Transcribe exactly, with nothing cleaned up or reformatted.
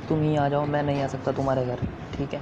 तुम ही आ जाओ, मैं नहीं आ सकता तुम्हारे घर, ठीक है?